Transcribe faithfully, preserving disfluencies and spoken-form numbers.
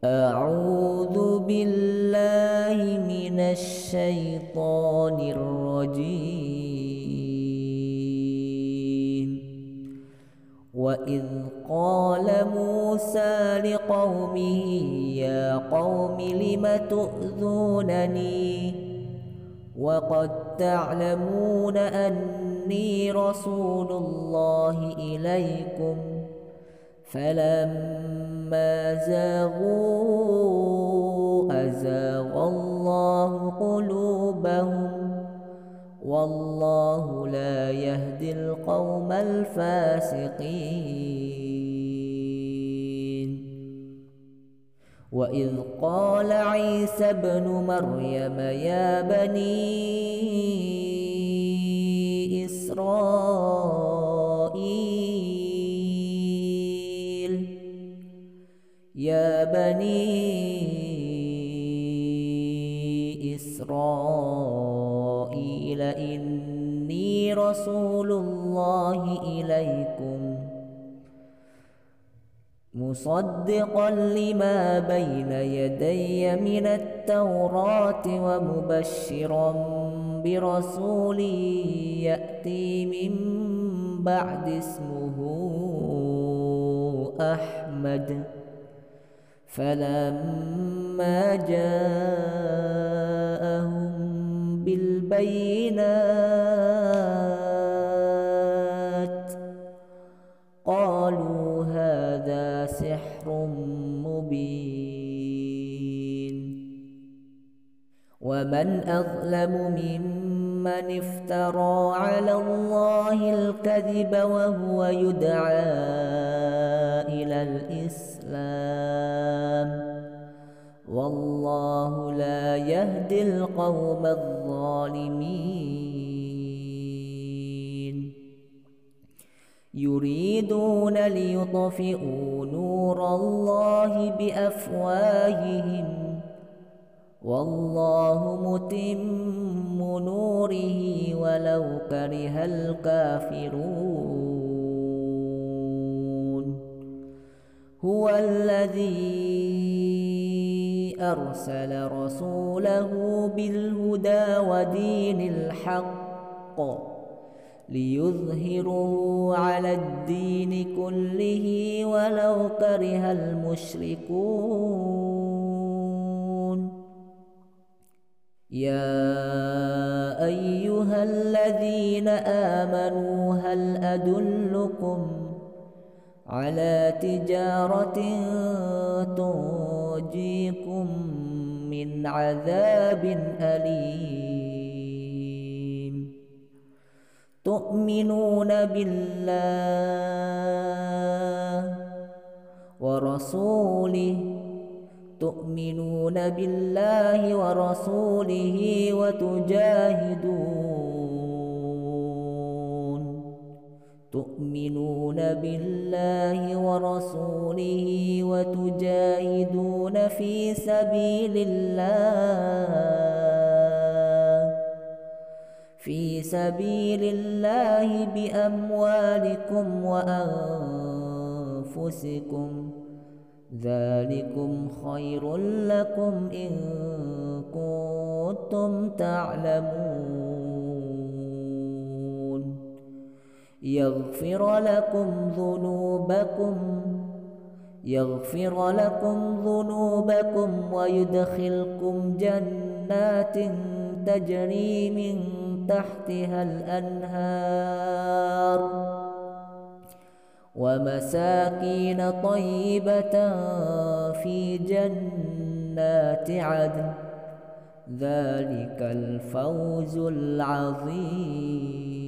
أعوذ بالله من الشيطان الرجيم. وإذ قال موسى لقومه يا قوم لم تؤذونني وقد تعلمون أني رسول الله إليكم فلما زاغوا أزاغ الله قلوبهم والله لا يهدي القوم الفاسقين. وإذ قال عيسى ابن مريم يا بني إسرائيل يا بني إسرائيل إني رسول الله إليكم مصدقا لما بين يدي من التوراة ومبشرا برسول يأتي من بعد اسمه أحمد. فلما جاءهم بالبينات قالوا هذا سحر مبين. ومن أظلم ممن افترى على الله الكذب وهو يدعى إلى الإسلام والله لا يهدي القوم الظالمين. يريدون ليطفئوا نور الله بأفواههم والله متم نوره ولو كره الكافرون. هو الذي أرسل رسوله بالهدى ودين الحق ليظهره على الدين كله ولو كره المشركون. يا أيها الذين آمنوا هل أدلكم على تجارة تنجيكم من عذاب أليم تؤمنون بالله ورسوله تؤمنون بالله ورسوله وتجاهدون تؤمنون بالله ورسوله وتجاهدون في سبيل الله في سبيل الله بأموالكم وأنفسكم ذلكم خير لكم إن كنتم تعلمون. يغفر لكم ذنوبكم يغفر لكم ذنوبكم ويدخلكم جنات تجري من تحتها الأنهار ومساكين طيبة في جنات عدن ذلك الفوز العظيم.